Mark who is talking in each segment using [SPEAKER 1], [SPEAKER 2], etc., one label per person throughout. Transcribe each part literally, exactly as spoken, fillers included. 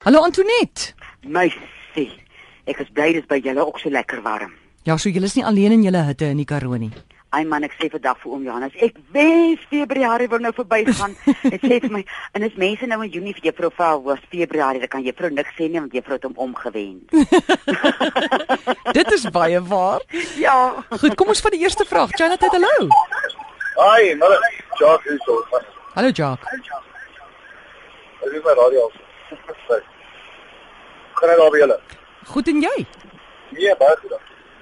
[SPEAKER 1] Hallo Antoinette.
[SPEAKER 2] Meisie, ek is bly dis by julle ook so lekker warm.
[SPEAKER 1] Ja, so julle is nie alleen in julle hitte in die Karoo nie.
[SPEAKER 2] Ai man, ek sê vandag vir oom Johannes, ek wens Februarie wil nou verbygaan. Ek sê vir my, en as mense nou in Junie vir juffrou vra was Februarie, dan kan juffrou niks sê nie want juffrou het hom omgewend.
[SPEAKER 1] Dit is baie waar.
[SPEAKER 2] Ja.
[SPEAKER 1] Goed, kom ons vat die eerste vraag. Janet, hallo.
[SPEAKER 3] Hi, maar Jacques hier so.
[SPEAKER 1] Hallo Jacques.
[SPEAKER 3] Ek is my radio af. Kan ek daar by julle?
[SPEAKER 1] Goed en jy?
[SPEAKER 3] Nee, baie goed.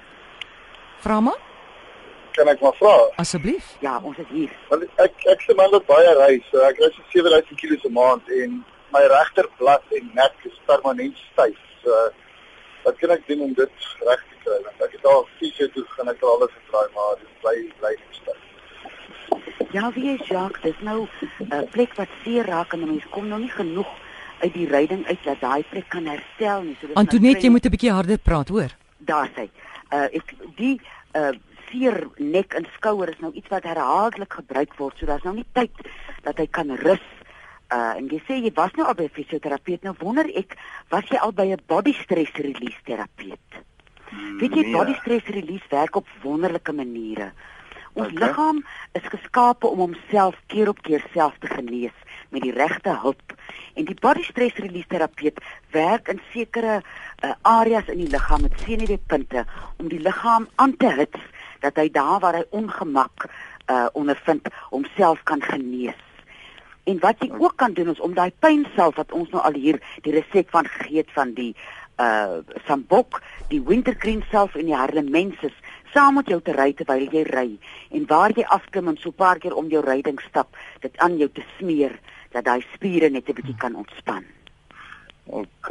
[SPEAKER 1] Vra maar.
[SPEAKER 3] Kan ek maar vra?
[SPEAKER 1] Asseblief.
[SPEAKER 2] Ja, ons is hier.
[SPEAKER 3] Want ek ek se man wat baie reis, so ek reis sewe duisend kilos 'n maand en my regterblad en nek is permanent styf. So wat kan ek doen om dit reg te kry? Want ek het al fisio toe gaan ek al alles getraai, maar dit bly bly styf.
[SPEAKER 2] Ja, wie is Jacques? Dis nou 'n uh, plek wat seer raak en mense kom nou nie genoeg uit die ryding uit dat daai plek kan herstel nie. So dis
[SPEAKER 1] Antoinette, jy moet 'n bietjie harder praat, hoor.
[SPEAKER 2] Daar sê. Uh ek die uh seer nek en skouer is nou iets wat herhaaldelik gebruik word. So daar's nou nie tyd dat hy kan rus. Uh en jy sê jy was nou al by 'n fisioterapeut. Nou wonder ek, was jy al by 'n body stress release terapeut? Hmm, Weet jy, nee. Body stress release werk op wonderlike maniere. Ons okay. liggaam is geskape om homself keer op keer self te genees met die regte hulp. En die body stress release terapeut werk in sekere uh, areas in die liggaam met senuweepunte om die liggaam aan te hits dat hy daar waar hy ongemak uh, ondervind homself kan genees. En wat jy ook kan doen is om daai pynself wat ons nou al hier die resep van gegee het van die uh sambok, die wintergreen self en die harlemensis saam met jou te ry terwyl jy ry en waar jy afklim en so 'n paar keer om jou ryding stap, dit aan jou te smeer dat daai spiere net 'n bietjie kan ontspan.
[SPEAKER 3] OK.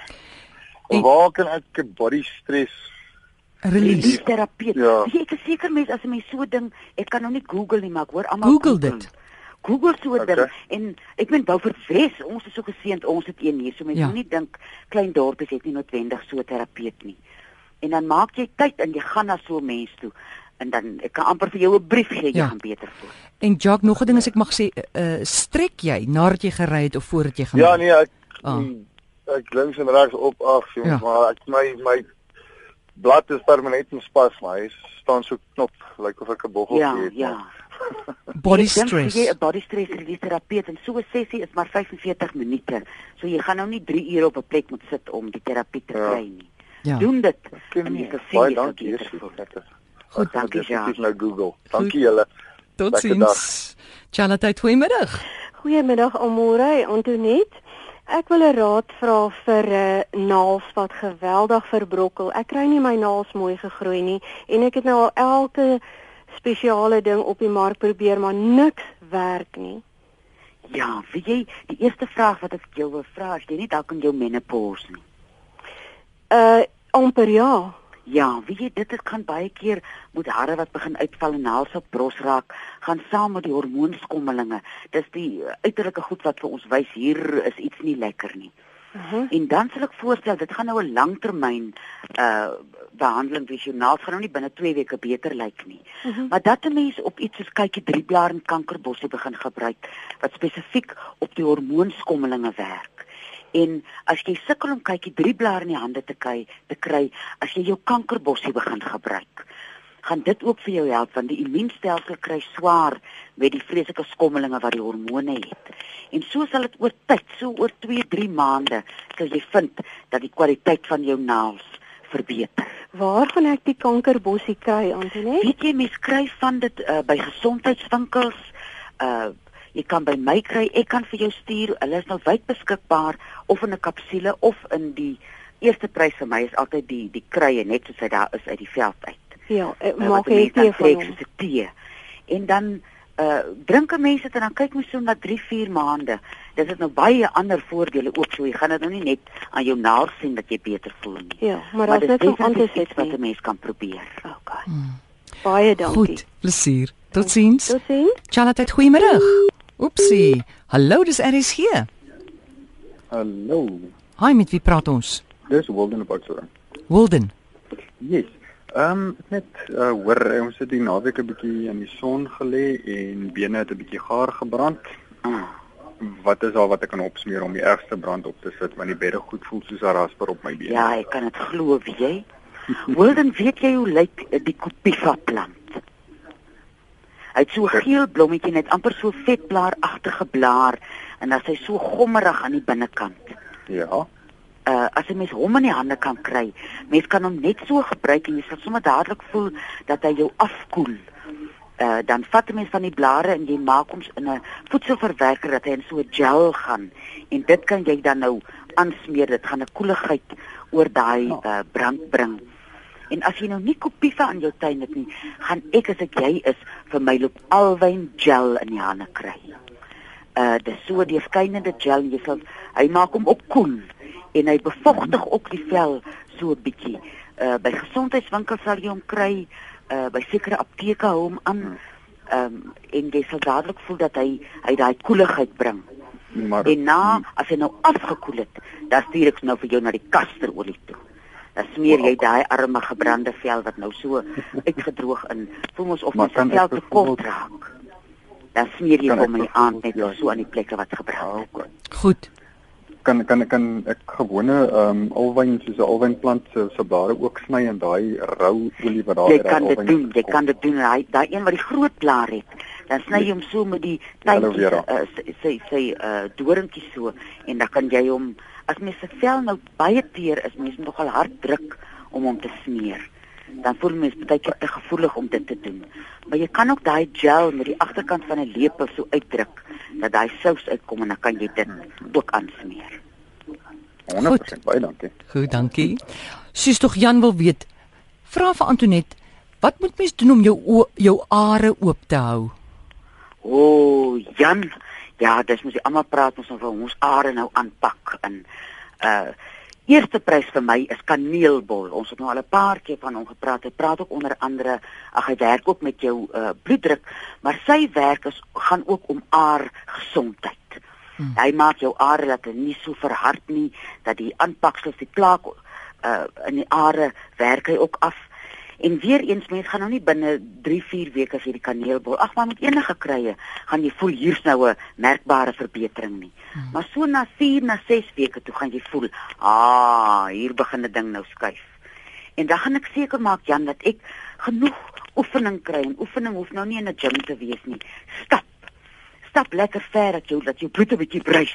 [SPEAKER 3] En waar kan ek 'n body stress
[SPEAKER 1] release
[SPEAKER 2] terapeut?
[SPEAKER 3] Ja.
[SPEAKER 2] Ek is seker mense as 'n mens so ding, ek kan nou nie Google nie, maar ek hoor almal
[SPEAKER 1] Google dit.
[SPEAKER 2] Google so 'n
[SPEAKER 3] Okay.
[SPEAKER 2] ding en ek meen Beaufort Wes, ons is so geseënd, ons het een hier, so mense
[SPEAKER 1] Ja.
[SPEAKER 2] moet nie dink klein dorpies het nie noodwendig so 'n terapeut nie. En dan maak jy tyd en jy gaan na so 'n mens toe en dan ek kan amper vir jou 'n brief gee, jy
[SPEAKER 1] Ja.
[SPEAKER 2] gaan beter voel.
[SPEAKER 1] En Jacques, nog 'n ding as ek mag sê, uh, strek jy nadat jy gery het of voordat jy gaan?
[SPEAKER 3] Ja, nee, ek
[SPEAKER 1] Ah.
[SPEAKER 3] ek links en regs op af, jongens,
[SPEAKER 1] Ja.
[SPEAKER 3] maar ek my my blad is permanent in spas, maar hy staan so knop, lyk like of ek 'n boggel
[SPEAKER 2] Ja,
[SPEAKER 3] het.
[SPEAKER 2] ja.
[SPEAKER 3] maar-
[SPEAKER 1] Body
[SPEAKER 2] Ek dink
[SPEAKER 1] stress.
[SPEAKER 2] Jy 'n body stress release terapeut en so 'n sessie is maar vyfenveertig minute. So jy gaan nou nie drie ure op 'n plek moet sit om die terapie te
[SPEAKER 3] Ja.
[SPEAKER 2] kry nie.
[SPEAKER 1] Ja.
[SPEAKER 2] Doen dit.
[SPEAKER 3] Ken
[SPEAKER 2] En jy
[SPEAKER 3] nie.
[SPEAKER 2] sal sien
[SPEAKER 3] Baie
[SPEAKER 2] jy sal
[SPEAKER 3] dankie,
[SPEAKER 2] beter
[SPEAKER 3] Jesus.
[SPEAKER 2] voel.
[SPEAKER 3] Goed,
[SPEAKER 2] dankie,
[SPEAKER 3] dankie
[SPEAKER 2] Jacques.
[SPEAKER 3] nou Google. Dankie julle.
[SPEAKER 1] Totsiens. Charlotte, goeiemiddag.
[SPEAKER 4] Goeiemiddag Amore, Antoinette. Ek wil 'n raad vra vir 'n uh, naels wat geweldig verbrokkel. Ek kry nie my naels mooi gegroei nie en ek het nou al elke spesiale ding op die mark probeer, maar niks werk nie.
[SPEAKER 2] Ja, weet jy, die eerste vraag wat ek jou wil vra, is jy nie dalk in jou menopause nie?
[SPEAKER 4] Uh amper ja.
[SPEAKER 2] Ja, weet jy, dit het kan baie keer met hare wat begin uitval en naels op bros raak, gaan saam met die hormoonskommelinge. Dis die uh, uiterlike goed wat vir ons wys hier is iets nie lekker nie.
[SPEAKER 4] Uh-huh.
[SPEAKER 2] En dan sal ek voorstel, dit gaan nou 'n langtermyn uh behandeling wees. Jou naels gaan nou nie binne twee weke beter lyk nie.
[SPEAKER 4] Uh-huh.
[SPEAKER 2] Maar dat 'n mens op iets soos kykie drie blaar en kankerbossie begin gebruik wat spesifiek op die hormoonskommelinge werk. En as jy sukkel om kykie drie blaar in die hande te kry, te kry, as jy jou kankerbossie begin gebruik, gaan dit ook vir jou help want die immuunstelsel kry swaar met die vreeslike skommelinge wat die hormone het. En so sal dit oor tyd, so oor twee, drie maande, sal jy vind dat die kwaliteit van jou naels verbeter.
[SPEAKER 4] Waar gaan ek die kankerbossie kry, Antoinette?
[SPEAKER 2] Weet jy, mens kry van dit uh, by gesondheidswinkels, uh jy kan by my kry, ek kan vir jou stuur, hulle is nou wyd beskikbaar, of in 'n kapsule, of in die eerste prys vir my is altyd die die kruie, net soos hy daar is uit die veld uit.
[SPEAKER 4] Ja, ek
[SPEAKER 2] Uh,
[SPEAKER 4] maak
[SPEAKER 2] wat die
[SPEAKER 4] jy
[SPEAKER 2] mens dan
[SPEAKER 4] tee van
[SPEAKER 2] trek
[SPEAKER 4] hom.
[SPEAKER 2] soos 'n tee. En dan uh drink 'n mens dit en dan kyk mens so na drie, vier maande. Dit het nou baie ander voordele ook, so jy gaan dit nou nie net aan jou naels sien dat jy beter voel nie.
[SPEAKER 4] Ja, maar
[SPEAKER 2] Maar
[SPEAKER 4] daar's
[SPEAKER 2] dit is
[SPEAKER 4] net so
[SPEAKER 2] definitief
[SPEAKER 4] anders
[SPEAKER 2] iets wat
[SPEAKER 4] nie.
[SPEAKER 2] 'n mens kan probeer.
[SPEAKER 4] Okay. Baie dankie.
[SPEAKER 1] Goed, plesier. Totsiens.
[SPEAKER 4] Totsiens.
[SPEAKER 1] Charlotte, goeiemiddag. Oepsie. Hallo, dis R S G.
[SPEAKER 3] Hallo.
[SPEAKER 1] Hi, met wie praat ons?
[SPEAKER 3] Dis Walden op Oudtshoorn.
[SPEAKER 1] Wilden.
[SPEAKER 3] Yes. Ehm um, net uh, hoor ons het die naweek 'n bietjie in die son gelê en bene het 'n bietjie gaar gebrand.
[SPEAKER 5] wat is daar wat ek kan opsmeer om die ergste brand op te sit, want die bedde goed voel soos 'n rasper op my bene.
[SPEAKER 2] Ja, ek kan dit glo, weet jy. Wilden, weet jy hoe lyk die Copiva plant? Hy het so 'n geel blommetjie net amper so vetblaaragtige blaar en dan is hy so gommerig aan die binnekant.
[SPEAKER 5] Ja.
[SPEAKER 2] Uh as 'n mens hom in die hande kan kry, mens kan hom net so gebruik en jy sal sommer dadelik voel dat hy jou afkoel. Uh dan vat 'n mens van die blare en jy maak hom in 'n voedselverwerker dat hy in so 'n gel gaan en dit kan jy dan nou aansmeer. Dit gaan 'n koeligheid oor daai uh, brand bring. En as jy nou nie Copiva in jou tuin het nie, gaan ek as ek jy is vir my loop alwyn gel in die hande kry. Uh dis so 'n deurskynende gel, jy sal hy maak hom ook koel en hy bevochtig ook die vel so 'n bietjie. Uh by gesondheidswinkels sal jy hom kry, uh by sekere apteke hou hom aan. Um en jy sal dadelik voel dat hy hy daai koeligheid bring. Maar, en na as hy nou afgekoel het, dan stuur ek nou vir jou na die kasterolie toe. Dan smeer jy daai arme gebrande vel wat nou so uitgedroog in. Voel mos of my vel te kort raak. Dan smeer jy hom in die aand net so aan die plekke wat gebrand het.
[SPEAKER 1] Goed.
[SPEAKER 5] Kan kan kan ek gewone ehm um, alwyn soos 'n alwynplant se se blare ook sny en daai rou olie wat daar
[SPEAKER 2] is. Jy kan dit doen, jy kan dit doen. Daai daai een wat die groot blaar het. Dan sny jy hom so met die tandjies, uh, sy sy uh, doringkies so en dan kan jy hom as mens se vel nou baie teer is, mens moet nogal hard druk om hom te smeer. Dan voel mens baie keer te gevoelig om dit te doen. Maar jy kan ook daai gel met die agterkant van 'n lepel so uitdruk dat daai sous uitkom en dan kan jy dit ook aansmeer.
[SPEAKER 5] honderd persent baie dankie.
[SPEAKER 1] Goed, dankie. Sies tog Jan wil weet. Vra vir Antoinette, wat moet mens doen om jou jou are oop te hou?
[SPEAKER 2] O, oh, Jan, ja, dis mos jy almal praat ons van ons are nou aanpak en uh eerste prys vir my is kaneelbol. Ons het nou al 'n paar keer van hom gepraat. Hy praat ook onder andere, ag hy werk ook met jou uh, bloeddruk, maar sy werk is gaan ook om aar gesondheid. Hmm. Hy maak jou are dat hulle nie so verhard nie, dat die aanpaksels die plaak uh, in die are werk hy ook af. En weer eens, mens gaan nou nie binne drie vier weke as jy die kaneelbol, ag maar met enige krye, gaan jy voel hier's nou 'n merkbare verbetering nie. Hmm. Maar so na vier na ses weke toe gaan jy voel, ah, hier begin 'n ding nou skuif. En dan gaan ek seker maak, Jan, dat ek genoeg oefening kry en oefening hoef nou nie in 'n gym te wees nie. Stap. Stap lekker ver dat jou dat jou bloed 'n bietjie bruis.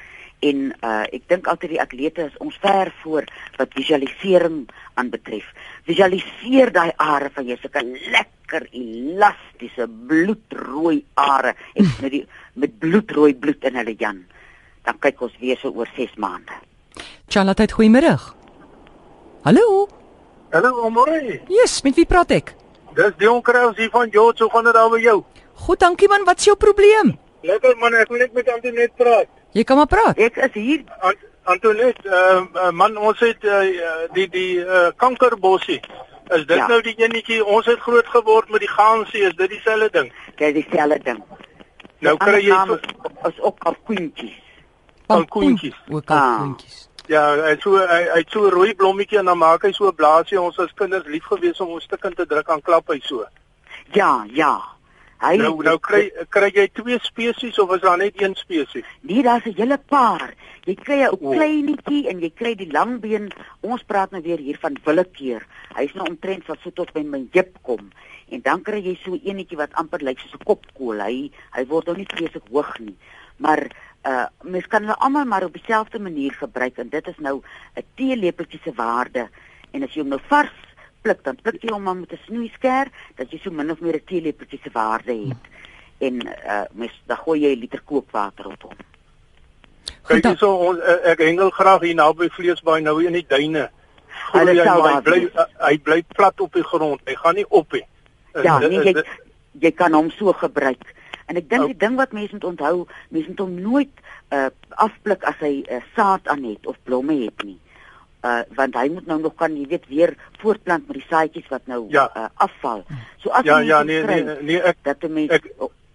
[SPEAKER 2] En uh, ek dink altyd die atlete is ons ver voor wat visualisering aanbetref. Visualiseer daai are van jou, sulke lekker elastiese bloedrooi are en met die met bloedrooi bloed in hulle, Jan. Dan kyk ons weer so oor ses maande.
[SPEAKER 1] Charlotte, goeiemiddag. Hallo.
[SPEAKER 6] Hallo, môre.
[SPEAKER 1] Yes, met wie praat ek?
[SPEAKER 6] Dis Dion Kraus hier van George, hoe gaan dit daar by jou?
[SPEAKER 1] Goed, dankie man, wat is jou probleem?
[SPEAKER 6] Lekker man, ek wil net met Antoinette praat.
[SPEAKER 1] Jy kan maar praat.
[SPEAKER 2] Ek is hier.
[SPEAKER 6] Ant Antoinette, uh, uh, man, ons het uh, die die uh, kankerbossie. Is dit ja. nou die enetjie, ons het groot geword met die gaansie, is dit dieselfde ding?
[SPEAKER 2] Dit is dieselfde ding.
[SPEAKER 6] Nou
[SPEAKER 2] die
[SPEAKER 6] kry jy so
[SPEAKER 2] is ook kalkoentjies.
[SPEAKER 6] Kalkoentjies.
[SPEAKER 1] Ook kalkoentjies.
[SPEAKER 6] Ah. Ja, hy so hy hy so 'n rooi blommetjie en dan maak hy so 'n blaasie. Ons as kinders lief gewees om ons stukkend te druk aan klap hy so.
[SPEAKER 2] Ja, ja. Hy
[SPEAKER 6] nou nou kry kry jy twee spesies of is daar net een spesies?
[SPEAKER 2] Nee, daar's 'n hele paar. Jy kry 'n oh. kleinetjie en jy kry die langbeen. Ons praat nou weer hier van willekeur. Hy's nou omtrent wat so tot by my heup kom. En dan kry jy so eenetjie wat amper lyk soos 'n kopkool. Hy hy word nou nie vreeslik hoog nie. Maar uh mens kan hulle almal maar op dieselfde manier gebruik en dit is nou 'n teelepeltjie se waarde. En as jy hom nou vars pluk, dan pluk jy hom maar met 'n snoeisker dat jy so min of meer 'n teelepeltjie se waarde het. En uh mens dan gooi jy 'n liter kookwater op hom.
[SPEAKER 6] Kyk hier so ons ek hengel graag hier naby Vleesbaai nou in die duine.
[SPEAKER 2] Hulle sal daar
[SPEAKER 6] bly hy bly plat op die grond. Hy gaan nie op nie.
[SPEAKER 2] Ja, nee, jy jy kan hom so gebruik. En ek dink die ding wat mense moet onthou, mense moet hom nooit uh afpluk as hy uh, saad aan het of blomme het nie. Uh want hy moet nou nog kan jy weet weer voortplant met die saadjies wat nou
[SPEAKER 6] ja.
[SPEAKER 2] uh, afval. So as
[SPEAKER 6] ja,
[SPEAKER 2] jy
[SPEAKER 6] ja, nee, nee, nee, ek
[SPEAKER 2] dat mense
[SPEAKER 6] ek,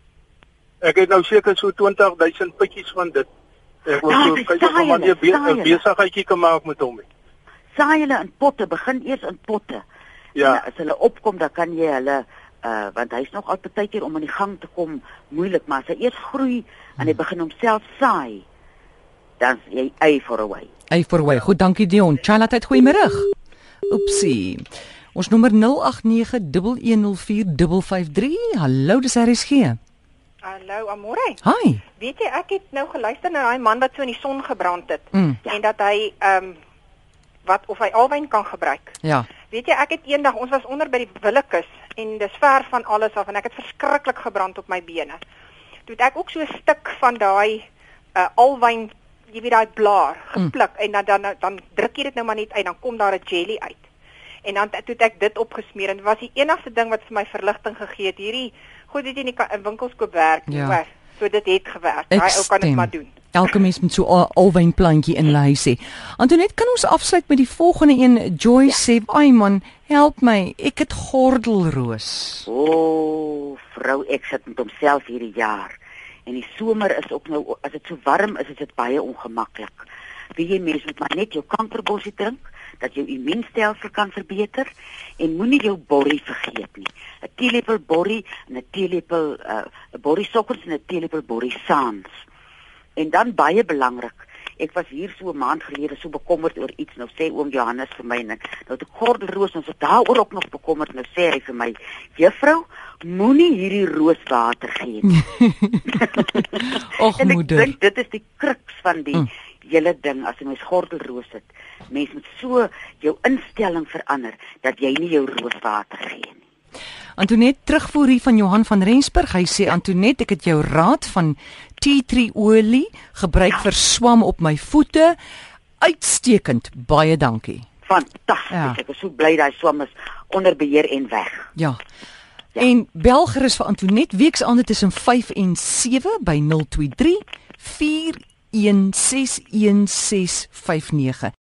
[SPEAKER 6] ek het nou seker so twintig duisend pitjies van dit. Ek wil so kyk of man 'n be besigheidjie kan maak met hom.
[SPEAKER 2] Saai hulle in potte, begin eers in potte.
[SPEAKER 6] Ja.
[SPEAKER 2] En as hulle opkom, dan kan jy hulle uh want hy's nog al partykeer om aan die gang te kom moeilik, maar as hy eers groei en hy begin homself saai, dan is jy A for away.
[SPEAKER 1] A for away. Goed, dankie Dion. Charlotte, goeiemiddag. Oepsie. Ons nommer nul agt nege, een een nul vier, vyf vyf drie. Hallo, dis R S G.
[SPEAKER 7] Hallo, Amore.
[SPEAKER 1] Hi.
[SPEAKER 7] Weet jy, ek het nou geluister na daai man wat so in die son gebrand het
[SPEAKER 1] Mm.
[SPEAKER 7] en dat hy ehm um, wat of hy alwyn kan gebruik.
[SPEAKER 1] Ja.
[SPEAKER 7] Weet jy, ek het eendag, ons was onder by die Willekeus en dis ver van alles af en ek het verskriklik gebrand op my bene. Toe het ek ook so 'n stuk van daai uh, alwyn, jy weet daai blaar gepluk mm. en dan dan dan druk jy dit nou maar net uit, dan kom daar 'n jelly uit. En dan toe het ek dit opgesmeer en dit was die enigste ding wat vir my verligting gegee het. Hierdie goed dit in die in winkels koop werk,
[SPEAKER 1] ja.
[SPEAKER 7] hoor. So dit het gewerk. Daai ou kan dit maar doen.
[SPEAKER 1] Elke mens moet so 'n alwynplantjie in huis hê. Antoinette, kan ons afsluit met die volgende een? Joy ja. sê, "Ai man, help my. Ek het gordelroos."
[SPEAKER 2] O, oh, vrou, ek sit met homself hierdie jaar. En die somer is ook nou, as dit so warm is, is dit baie ongemaklik. Wie jy mens moet maar net jou kankerbossie drink, dat jou immuunstelsel kan verbeter en moenie jou borrie vergeet nie. 'n Teelepel borrie en 'n teelepel uh, 'n borrie sokkers en 'n teelepel borrie saans. En dan baie belangrik, ek was hier so 'n maand gelede so bekommerd oor iets, nou sê oom Johannes vir my, nou het ek gordelroos, ons het daaroor ook nog bekommerd, nou sê hy vir my, juffrou, moenie hierdie rooswater gee nie.
[SPEAKER 1] Och
[SPEAKER 2] en ek
[SPEAKER 1] moeder.
[SPEAKER 2] dink dit is die kruks van die mm. hele ding, as jy mens gordelroos het, mens moet so jou instelling verander, dat jy nie jou rooswater gee nie.
[SPEAKER 1] Antoinette, terugvoer hier van Johan van Rensburg. Hy sê, Antoinette, ek het jou raad van tea tree olie gebruik ja. vir swam op my voete. Uitstekend. Baie dankie.
[SPEAKER 2] Fantasties. Ja. Ek is so bly daai swam is onder beheer en weg.
[SPEAKER 1] Ja. ja. En bel gerus vir Antoinette weksaande tussen vyf en sewe by nul twee drie, vier een ses een ses vyf nege.